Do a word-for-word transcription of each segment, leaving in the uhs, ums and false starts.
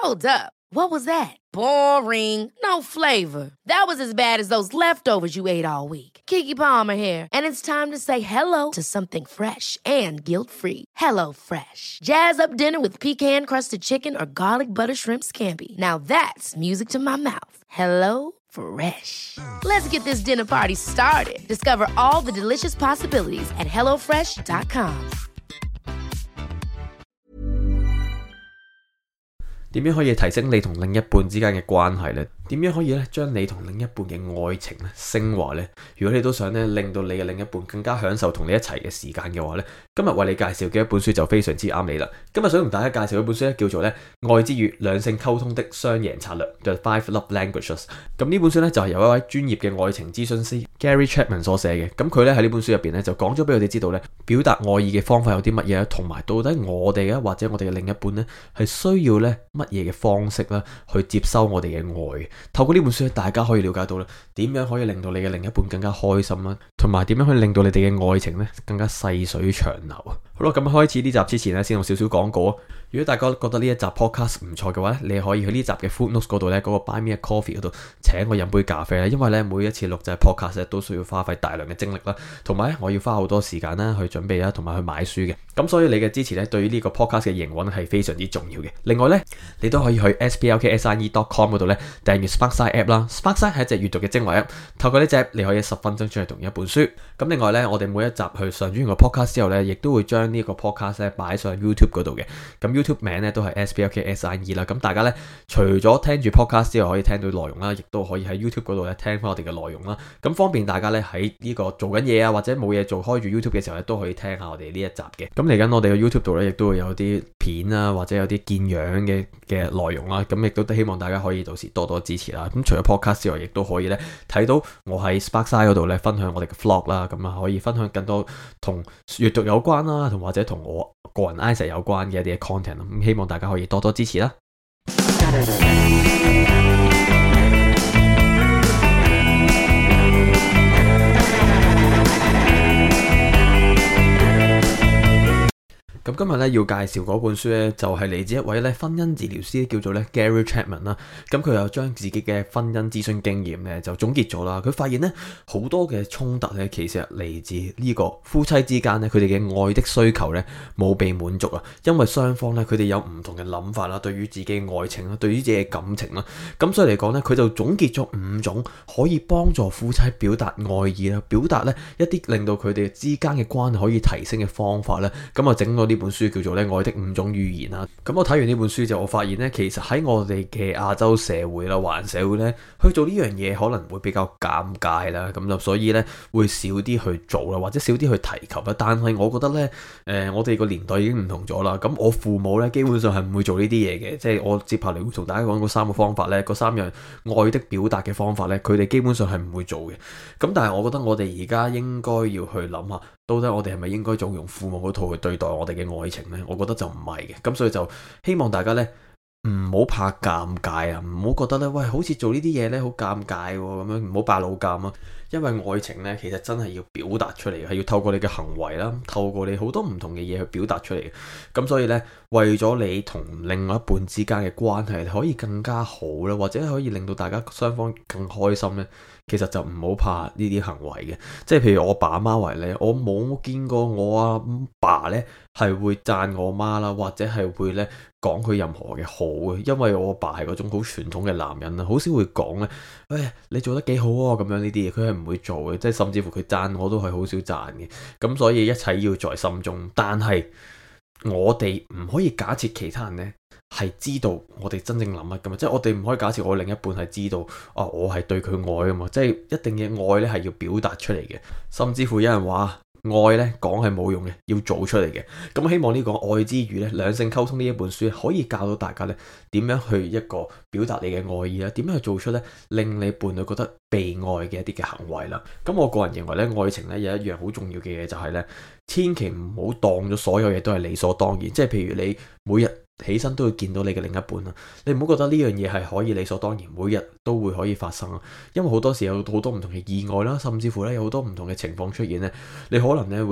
Hold up. What was that? Boring. No flavor. That was as bad as those leftovers you ate all week. Keke Palmer here, and it's time to say hello to something fresh and guilt-free. Hello Fresh. Jazz up dinner with pecan-crusted chicken or garlic butter shrimp scampi. Now that's music to my mouth. Hello Fresh. Let's get this dinner party started. Discover all the delicious possibilities at hello fresh dot com. 點樣可以提升你同另一半之間嘅關係呢？點樣可以咧將你同另一半嘅愛情咧升華呢？如果你都想咧令到你嘅另一半更加享受同你一齊嘅時間嘅話咧，今日為你介紹嘅一本書就非常之啱你啦。今日想同大家介紹一本書咧，叫做咧《愛之語：兩性溝通的雙贏策略》The Five Love Languages。咁呢本書咧就係由一位專業嘅愛情諮詢師 Gary Chapman 所寫嘅。咁佢咧喺呢本書入邊咧就講咗俾我哋知道咧，表達愛意嘅方法有啲乜嘢，同埋到底我哋啊或者我哋嘅另一半咧係需要咧乜嘢嘅方式啦去接收我哋嘅愛。透過呢本書咧，大家可以了解到咧點樣可以令到你嘅另一半更加開心啦，同埋點樣可以令到你哋嘅愛情咧更加細水長流啊！好啦，咁開始呢集之前咧，先用少少廣告啊！如果大家覺得呢一集 podcast 唔錯嘅話咧，你可以去呢集嘅 footnotes 嗰度咧，嗰、那個 Buy Me a Coffee 嗰度請我飲杯咖啡啦。因為咧每一次錄製 podcast 咧都需要花費大量嘅精力啦，同埋我要花好多時間啦去準備啦，同埋去買書嘅。咁所以你嘅支持咧，對於呢個 podcast 嘅營運係非常之重要嘅。另外咧，你都可以去 s p l k s i e dot com 嗰度咧訂閱 Sparkside app 啦。Sparkside 係一隻閱讀嘅精華 app， 透過呢隻 app 你可以十分鐘出去讀一本書。咁另外咧，我哋每一集去上傳完個 podcast 之後咧，亦都會將呢個 podcast 咧擺上 YouTube 嗰度嘅。咁 YouTube 名咧都係 S P L K S I E 啦。咁大家咧除咗聽住 podcast 之外，可以聽到內容啦，亦都可以喺 YouTube 嗰度咧聽翻我哋嘅內容啦。咁方便大家咧喺呢個做緊嘢啊，或者冇嘢做開住 YouTube 嘅時候咧，都可以聽下我哋呢一集嘅。咁嚟緊我哋嘅 YouTube 度咧，亦都會有啲片啊，或者有啲見樣嘅嘅內容啦。咁亦都希望大家可以到時多多支持啦。咁除咗 podcast 之外，亦都可以咧睇到我喺 Sparkside 嗰度咧分享我哋嘅 vlog 啦。咁啊可以分享更多同閱讀有關啦，同或者同我個人 Isaac 有關嘅一啲 content。咁希望大家可以多多支持啦。咁今日咧要介紹嗰本書咧，就係嚟自一位咧婚姻治療師，叫做咧 Gary Chapman 啦。咁佢又將自己嘅婚姻諮詢經驗咧就總結咗啦。佢發現咧好多嘅衝突咧，其實嚟自呢個夫妻之間咧，佢哋嘅愛的需求咧冇被滿足啊。因為雙方咧佢哋有唔同嘅諗法啦，對於自己嘅愛情啦，對於自己嘅感情啦。咁所以嚟講咧，佢就總結咗五種可以幫助夫妻表達愛意啦，表達咧一啲令到佢哋之間嘅關係可以提升嘅方法咧。咁啊整咗呢本書叫做咧愛的五種語言啦。咁我睇完呢本書就我發現咧，其實喺我哋嘅亞洲社會啦、華人社會咧，去做呢樣嘢可能會比較尷尬啦。咁就所以咧會少啲去做啦，或者少啲去提及啦。但係我覺得咧，誒、呃、我哋個年代已經唔同咗啦。咁我父母咧基本上係唔會做呢啲嘢嘅，即係我接下嚟會同大家講嗰三個方法咧，嗰三樣愛的表達嘅方法咧，佢哋基本上係唔會做嘅。咁但係我覺得我哋而家應該要去諗下，到底我哋係咪應該仲用父母嗰套去對待我哋嘅愛情呢？我覺得就唔係嘅。咁所以就希望大家呢唔好怕尷尬啊，唔好覺得呢喂好似做呢啲嘢呢好尷尬喎，咁樣唔好扮老尷啊。因為愛情呢其實真係要表達出嚟嘅，係要透過你嘅行為啦，透過你好多唔同嘅嘢去表達出嚟嘅。咁所以呢，為咗你同另外一半之間嘅關係可以更加好啦，或者可以令到大家雙方更開心呢，其實就唔好怕呢啲行為嘅。即係譬如我爸阿媽為例，我冇見過我阿爸呢係會讚我媽啦，或者係會呢講佢任何嘅好嘅。因為我阿爸係嗰種好傳統嘅男人啦，好少會講呢，誒你做得幾好啊咁樣呢啲嘢，佢係唔會做嘅。即係甚至乎佢讚我都係好少讚嘅。咁所以一切要在心中，但係我哋唔可以假設其他人呢係知道我哋真正諗乜噶嘛，即係我哋唔可以假設我另一半係知道啊，我係對佢愛噶嘛，即係一定嘅愛呢係要表達出嚟嘅。甚至乎有人話愛呢講係冇用嘅，要做出嚟嘅。咁希望呢個愛之語呢，兩性溝通呢一本書可以教到大家呢點樣去一個表達你嘅愛意啦，點樣去做出呢令你伴侶覺得被愛嘅一啲嘅行為啦。咁我個人認為呢，愛情呢有一樣好重要嘅嘢就係呢，千祈唔好當咗所有嘢都係理所當然。即係譬如你每日起身都會見到你嘅另一半啦，你唔好覺得呢樣嘢係可以理所當然，每日都會可以發生啊。因為好多時有好多唔同嘅意外啦，甚至乎咧有好多唔同嘅情況出現咧，你可能咧會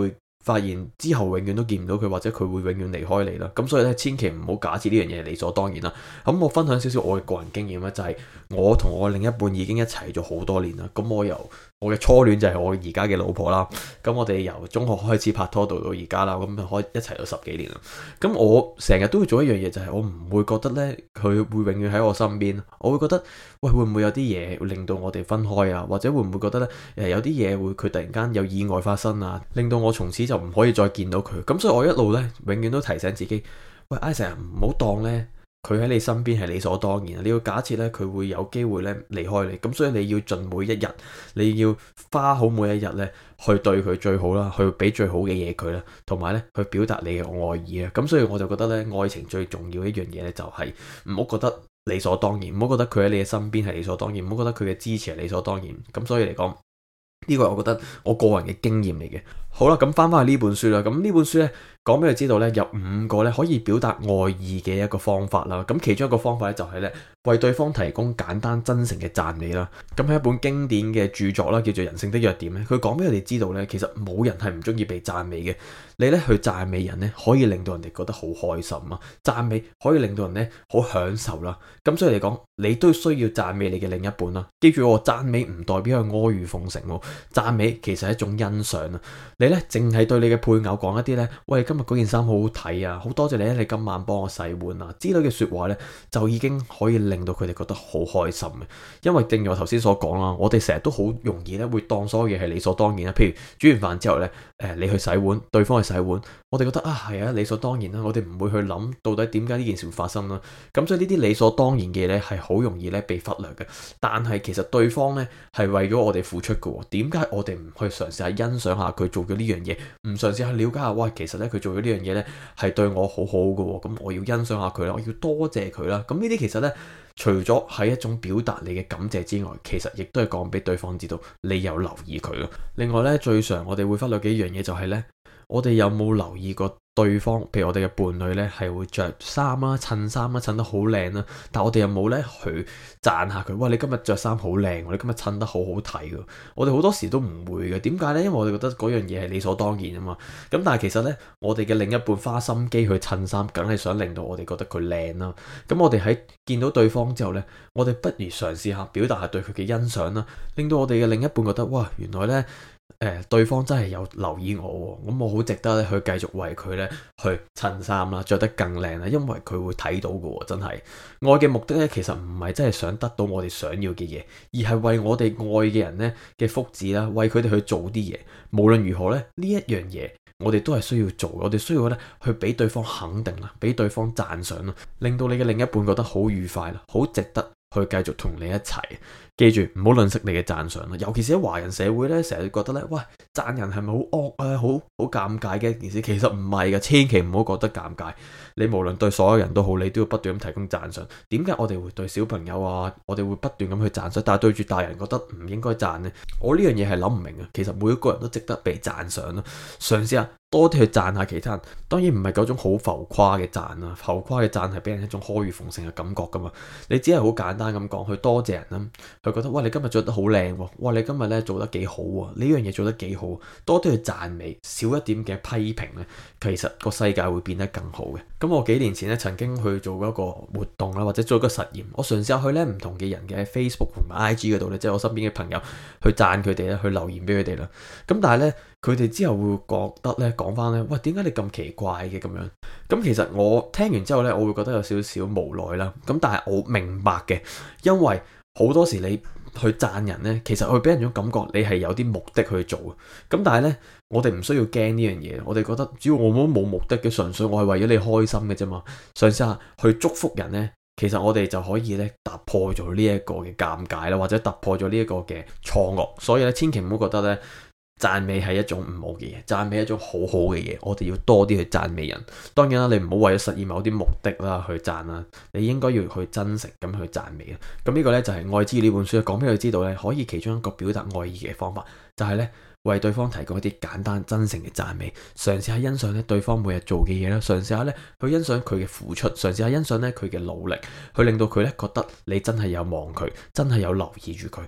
發現之後永遠都見唔到佢，或者佢會永遠離開你啦。咁所以咧，千祈唔好假設呢樣嘢係理所當然啦。咁我分享少少我嘅個人經驗啦，就係我同我另一半已經一齊咗好多年啦。咁我由我嘅初戀就係我而家嘅老婆啦。咁我哋由中學開始拍拖到到而家啦，咁就可以一齊咗十幾年啦。咁我成日都會做一樣嘢，就係我唔會覺得咧佢會永遠喺我身邊。我會覺得喂，會唔會有啲嘢會令到我哋分開啊？或者會唔會覺得咧誒有啲嘢會佢突然間有意外發生啊，令到我從此就唔可以再見到佢。咁所以我一路咧永遠都提醒自己，喂，Isaac，唔好當咧佢喺你身邊係理所當然。你要假設咧佢會有機會咧離開你。咁所以你要盡每一日，你要花好每一日咧去對佢最好啦，去俾最好嘅嘢佢啦，同埋咧去表達你嘅愛意啊。咁所以我就覺得咧，愛情最重要一樣嘢咧就係唔好覺得理所當然，唔好覺得佢喺你嘅身邊係理所當然，唔好覺得佢嘅支持係理所當然。咁所以嚟講，呢個係我覺得我個人嘅經驗嚟嘅。好啦，咁翻翻去呢本書啦。咁呢本書咧講俾你知道咧，有五個咧可以表達愛意嘅一個方法啦。咁其中一個方法咧就係咧為對方提供簡單真誠嘅讚美啦。咁係一本經典嘅著作啦，叫做《人性的弱點》咧。佢講俾我哋知道咧，其實冇人係唔中意被讚美嘅。你咧去讚美人咧，可以令到人哋覺得好開心啊！讚美可以令到人咧好享受啦。咁所以嚟講，你都需要讚美你嘅另一半啦。記住，我讚美唔代表係阿諛奉承喎，讚美其實係一種欣賞啊。你咧淨係對你嘅配偶講一啲咧，喂，今日嗰件衫好好睇啊，好多謝你咧，你今晚幫我洗碗啊之類嘅說話咧，就已經可以令到佢哋覺得好開心嘅。因為正如我頭先所講啦，我哋成日都好容易咧會當所有嘢係理所當然啦。譬如煮完飯之後咧，誒，你去洗碗，對方去洗碗，我哋覺得啊係啊理所當然啦，我哋唔會去諗到底點解呢件事會發生啦。咁所以呢啲理所當然嘅嘢咧係好容易咧被忽略嘅。但係其實對方咧係為咗我哋付出嘅，點解我哋唔去嘗試下欣賞下佢做嘅呢樣嘢，唔嘗試去了解下，哇，其實咧佢做咗呢樣嘢咧係對我好好嘅，咁我要欣賞下佢啦，我要多謝佢啦。咁呢啲其實咧除咗係一種表達你嘅感謝之外，其實亦都係講俾對方知道你有留意佢咯。另外咧，最常我哋會忽略嘅一樣嘢就係咧，我哋有冇留意過對方，譬如我哋嘅伴侶咧係會着衫啦、襯衫啦、襯得好靚啦，但我哋有冇咧去讚下佢？喂，你今日着衫好靚，你今日襯得好好睇㗎。我哋好多時都唔會嘅，點解咧？因為我哋覺得嗰樣嘢係理所當然啊嘛。咁但係其實咧，我哋嘅另一半花心機去襯衫，梗係想令到我哋覺得佢靚啦。咁我哋喺見到對方之後咧，我哋不如嘗試下表達下對佢嘅欣賞啦，令到我哋嘅另一半覺得，哇，原來咧。誒、呃，對方真係有留意我，咁我好值得咧去繼續為佢咧去襯衫啦，着得更靚啦，因為佢會睇到嘅，真係愛嘅目的咧，其實唔係真係想得到我哋想要嘅嘢，而係為我哋愛嘅人咧嘅福祉啦，為佢哋去做啲嘢。無論如何咧，呢一樣嘢我哋都係需要做，我哋需要咧去俾對方肯定啦，俾對方讚賞啦，令到你嘅另一半覺得好愉快啦，好值得去繼續同你一齊。記住唔好吝嗇你嘅讚賞啦，尤其是喺華人社會咧，成日覺得咧，喂，讚人係咪好惡啊，好好尷尬嘅一件事？其實唔係噶，千祈唔好覺得尷尬。你無論對所有人都好，你都要不斷咁提供讚賞。點解我哋會對小朋友啊，我哋會不斷咁去讚賞，但係對住大人覺得唔應該讚呢？我呢樣嘢係諗唔明啊。其實每一個人都值得被讚賞咯，嘗試下多啲去讚下其他人。當然唔係嗰種好浮誇嘅讚啊，浮誇嘅讚係俾人一種阿諛奉承嘅感覺噶嘛。你只係好簡單咁講，去多謝人啦。佢覺得，哇，你今日着得好靚喎，哇，你今日咧做得幾好喎，呢樣嘢做得幾好，多啲去讚美，少一點嘅批評咧，其實個世界會變得更好嘅。咁我幾年前咧曾經去做一個活動啦，或者做一個實驗，我嘗試下去咧唔同嘅人嘅 Facebook 同埋 I G 嗰度咧，即係我身邊嘅朋友去讚佢哋咧，去留言俾佢哋啦。咁但係咧，佢哋之後會覺得咧，講翻咧，喂，點解你咁奇怪嘅咁樣？咁其實我聽完之後咧，我會覺得有少少無奈啦。咁但係我明白嘅，因為好多時你去讚人呢，其實會俾人種感覺你係有啲目的去做。咁但係呢，我哋唔需要驚呢樣嘢。我哋覺得只要我冇冇目的嘅，純粹我係為咗你開心嘅啫嘛。嘗試下去祝福人呢，其實我哋就可以咧突破咗呢一個嘅尷尬啦，或者突破咗呢一個嘅錯愕。所以咧，千祈唔好覺得呢，讚美係一種唔好嘅嘢，讚美係一種好好嘅嘢，我哋要多啲去讚美人。當然啦，你唔好為咗實現某啲目的啦去讚啦，你應該要去真誠咁去讚美啦。咁呢個呢，就係《愛之語》呢本書講俾佢知道呢，可以其中一個表達愛意嘅方法，就係呢：為對方提供一啲簡單真誠嘅讚美，嘗試下欣賞咧對方每日做嘅嘢啦，嘗試下咧去欣賞佢嘅付出，嘗試下欣賞咧佢嘅努力，去令到佢咧覺得你真係有望佢，真係有留意住佢。咁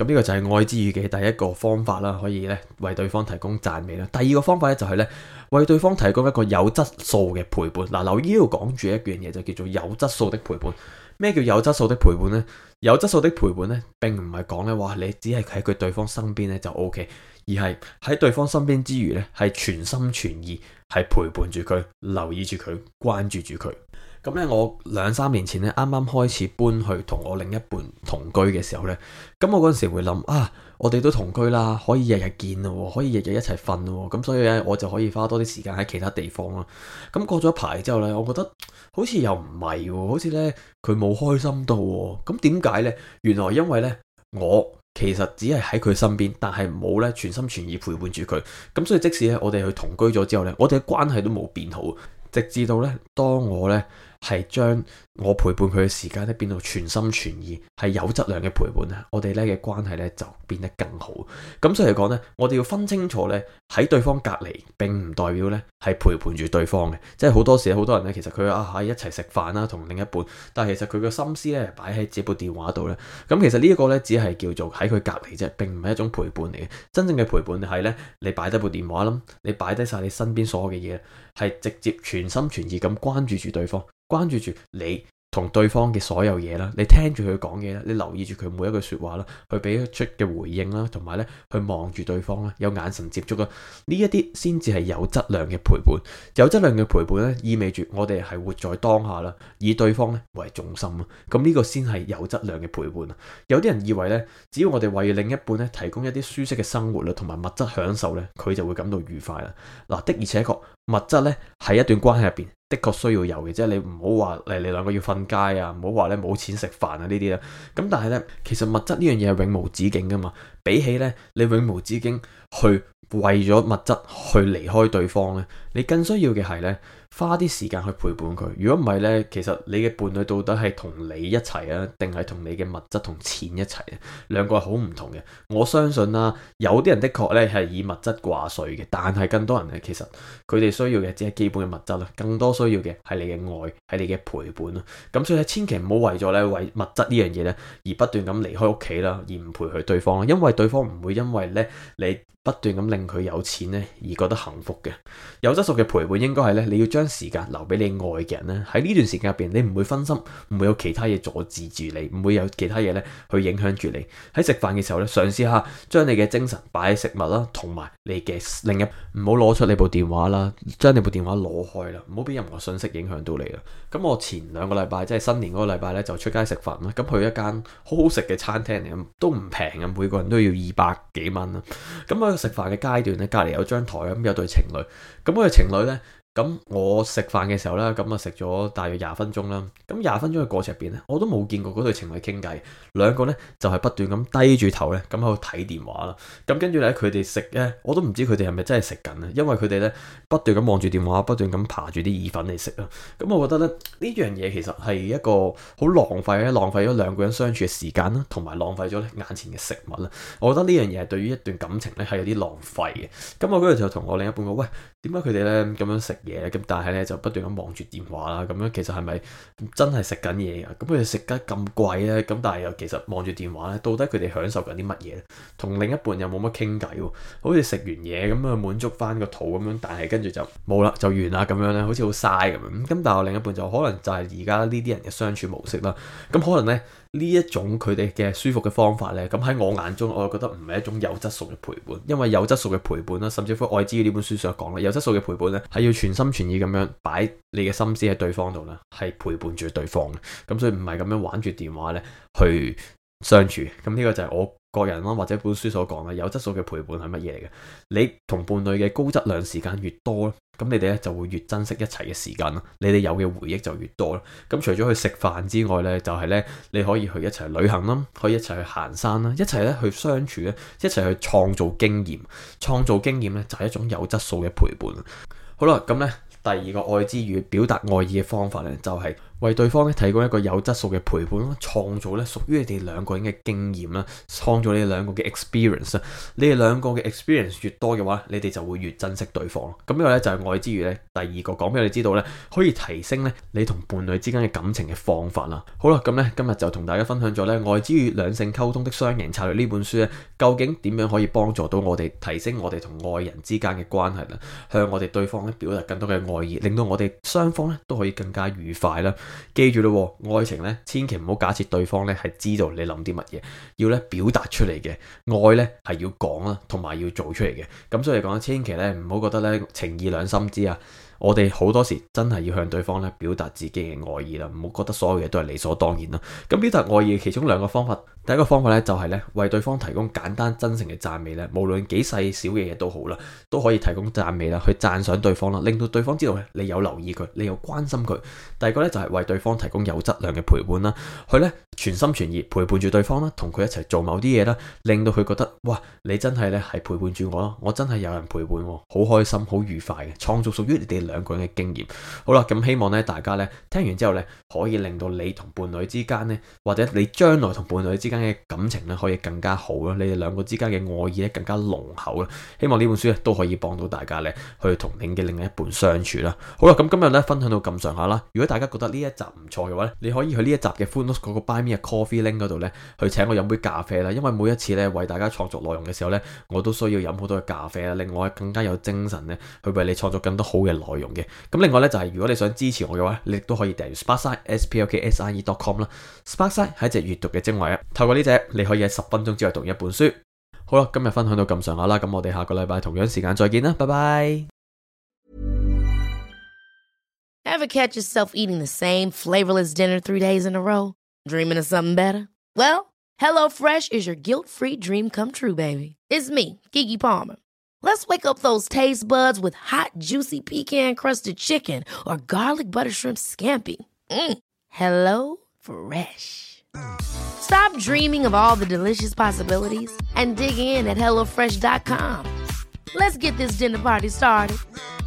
咁呢個就係愛之語嘅第一個方法啦，可以咧為對方提供讚美啦。第二個方法咧就係咧為對方提供一個有質素嘅陪伴。嗱，留意呢度講住一樣嘢就叫做有質素的陪伴。咩叫有質素的陪伴呢？有質素的陪伴呢，並唔係講咧話你只係喺佢對方身邊咧就 O K，而係喺對方身邊之餘咧係全心全意係陪伴住佢、留意住佢、關注住佢。咁咧，我兩三年前咧，啱啱開始搬去同我另一半同居嘅時候咧，咁我嗰陣時會諗啊，我哋都同居啦，可以日日見咯，可以日日一齊瞓咯，咁所以咧，我就可以花多啲時間喺其他地方咯。咁過咗一排之後咧，我覺得好似又唔係喎，好似咧佢冇開心到喎。咁點解咧？原來因為咧，我其實只係喺佢身邊，但係冇咧全心全意陪伴住佢。咁所以即使咧我哋去同居咗之後咧，我哋嘅關係都冇變好，直至到咧當我咧係將我陪伴佢嘅時間咧變到全心全意，係有質量嘅陪伴咧，我哋咧嘅關係咧就變得更好。咁所以嚟講咧，我哋要分清楚咧，喺對方隔離並唔代表咧係陪伴住對方嘅。即係好多時好多人咧，其實佢啊喺一齊食飯啦，同另一半，但係其實佢個心思咧擺喺這部電話度咧。咁其實呢一個咧只係叫做喺佢隔離啫，並唔係一種陪伴嚟嘅。真正嘅陪伴係咧，你擺低部電話啦，你擺低晒你身邊所有嘅嘢，係直接全心全意咁關注住對方。關注住你同對方嘅所有嘢啦，你聽住佢講嘢啦，你留意住佢每一句說話啦，去俾出嘅回應啦，同埋咧去望住對方啦，有眼神接觸啦，呢一啲先至係有質量嘅陪伴。有質量嘅陪伴咧，意味住我哋係活在當下啦，以對方咧為重心啊。咁呢個先係有質量嘅陪伴啊。有啲人以為咧，只要我哋為另一半咧提供一啲舒適嘅生活啦，同埋物質享受咧，佢就會感到愉快啦。嗱，的而且確，物質咧喺一段關係入邊的確需要有嘅，即係你唔好話誒你兩個要瞓街啊，唔好話咧冇錢食飯啊呢啲啦。咁但係咧，其實物質呢樣嘢係永無止境噶嘛。比起咧你永無止境去為咗物質去離開對方咧，你更需要嘅係咧花啲時間去陪伴佢。如果唔係咧，其實你嘅伴侶到底係同你一齊啊，定係同你嘅物質同錢一齊啊？兩個係好唔同嘅。我相信啦，有啲人的確咧係以物質掛帥嘅，但係更多人咧其實佢哋需要嘅只係基本嘅物質啦，更多需要嘅係你嘅愛，係你嘅陪伴啦。咁所以千祈唔好為咗咧為物質呢樣嘢咧而不斷咁離開屋企啦，而唔陪佢對方，因為對方唔會因為咧你不斷咁令佢有錢咧而覺得幸福嘅。有質素嘅陪伴應該係咧，你要將時間留俾你愛嘅人咧，喺呢段時間入邊你唔會分心，唔會有其他嘢阻止住你，唔會有其他嘢咧去影響住你。喺食飯嘅時候咧，嘗試下將你嘅精神擺喺食物啦，同埋你嘅另一，唔好攞出你部電話啦，將你部電話攞開啦，唔好俾任何信息影響到你啦。咁我前兩個禮拜即係新年嗰個禮拜咧就出街食飯啦，咁去一間好好食嘅餐廳嚟，都唔平嘅，每個人都要二百幾蚊啦。咁喺食飯嘅階段咧，隔離有張台咁有對情侶，咁嗰對情侶咧。咁我食飯嘅時候咧，咁啊食咗大約廿分鐘啦。咁廿分鐘嘅過程入邊咧，我都冇見過嗰對情侶傾偈，兩個咧就係不斷咁低住頭咧，咁喺度睇電話啦。咁跟住咧，佢哋食咧，我都唔知佢哋係咪真係食緊啊，因為佢哋咧不斷咁望住電話，不斷咁爬住啲意粉嚟食啦。咁我覺得咧呢樣嘢其實係一個好浪費咧，浪費咗兩個人相處嘅時間啦，同埋浪費咗咧眼前嘅食物啦。我覺得呢樣嘢係對於一段感情咧係有啲浪費嘅。咁我嗰日就同我另一半講：喂，點解佢哋咧咁樣食嘢？咁但係咧就不斷咁望住電話啦，咁樣其實係咪真係食緊嘢啊？咁佢哋食得咁貴咧，咁但係又其實望住電話咧，到底佢哋享受緊啲乜嘢咧？同另一半又冇乜傾偈喎，好似食完嘢咁啊，滿足翻個肚咁樣，但係跟住就冇啦，就完啦咁樣咧，好似好嘥咁樣。咁但係我另一半就可能就係而家呢啲人嘅相處模式啦。咁可能咧呢一種佢哋嘅舒服嘅方法咧，咁喺我眼中我就覺得唔係一種有質素嘅陪伴，因為有質素嘅陪伴啦，甚至乎《愛之語》呢本書所講啦，有質素嘅陪伴咧係要全心全意咁樣擺你嘅心思喺對方度啦，係陪伴住對方嘅。咁所以唔係咁樣玩住電話咧去相處。咁呢個就係我個人啦，或者本書所講啦，有質素嘅陪伴係乜嘢嚟嘅？你同伴侶嘅高質量時間越多咧，咁你哋咧就會越珍惜一齊嘅時間啦，你哋有嘅回憶就越多啦。咁除咗去食飯之外咧，就係咧你可以去一齊旅行啦，可以一齊去行山啦，一齊咧去相處咧，一齊去創造經驗。創造經驗咧就係一種有質素嘅陪伴。好啦，咁咧第二個愛之語表達愛意嘅方法咧，就係為對方咧提供一個有質素嘅陪伴啦，創造咧屬於你哋兩個人嘅經驗啦，創造你哋兩個嘅 experience 啊。你哋兩個嘅 experience 越多嘅話，你哋就會越珍惜對方。咁呢個咧就係愛之語咧第二個講俾我哋知道咧，可以提升咧你同伴侶之間嘅感情嘅方法啦。好啦，咁咧今日就同大家分享咗咧愛之語兩性溝通的雙贏策略呢本書咧，究竟點樣可以幫助到我哋提升我哋同愛人之間嘅關係啦，向我哋對方咧表達更多嘅愛意，令到我哋雙方咧都可以更加愉快啦。記住咯，愛情咧千祈唔好假設對方咧係知道你諗啲乜嘢，要咧表達出嚟嘅。愛咧係要講啦，同埋要做出嚟嘅。咁所以講，千祈咧唔好覺得咧情義兩心知啊。我哋好多時真係要向對方咧表達自己嘅愛意啦，唔好覺得所有嘢都係理所當然啦。咁表達愛意嘅其中兩個方法，第一個方法咧就係咧為對方提供簡單真誠嘅讚美咧，無論幾細小嘅嘢都好啦，都可以提供讚美啦，去讚賞對方啦，令到對方知道咧你有留意佢，你有關心佢。第二個咧就係為對方提供有質量嘅陪伴啦，佢咧全心全意陪伴住對方啦，同佢一齊做某啲嘢啦，令到佢覺得哇，你真係咧係陪伴住我咯，我真係有人陪伴我，好開心，好愉快嘅，創造屬於你哋兩個人嘅經驗。好啦，咁希望咧大家咧聽完之後咧，可以令到你同伴侶之間咧，或者你將來同伴侶之間嘅感情咧，可以更加好啦，你哋兩個之間嘅愛意咧更加濃厚啦。希望呢本書咧都可以幫到大家咧，去同你嘅另一半相處啦。好啦，咁今日咧分享到咁上下啦。如果大家覺得呢一集唔錯嘅話咧，你可以去呢一集嘅 Footnotes 嗰個 Buy Me a Coffee link 嗰度咧，去請我飲杯咖啡啦。因為每一次咧為大家創作內容嘅時候咧，我都需要飲好多嘅咖啡啦，令我更加有精神咧，去為你創作更多好嘅內容嘅。咁另外咧就係、是、如果你想支持我嘅話，你亦都可以訂閱 Sparkside S P L K S I E dot com 啦。Sparkside 係一隻閱讀嘅精華啊，透過呢隻你可以喺十分鐘之內讀一本書。好啦，今日分享到咁上下啦，咁我哋下個禮拜同樣時間再見啦，拜拜。 Ever catch yourself eating the same flavorless dinner three days in a row? Dreaming of something better? Well, HelloFresh is your guilt-free dream come true, baby. It's me, Keke Palmer. Let's wake up those taste buds with hot, juicy pecan-crusted chicken or garlic butter shrimp scampi. Mm. Hello Fresh. Stop dreaming of all the delicious possibilities and dig in at hello fresh dot com. Let's get this dinner party started.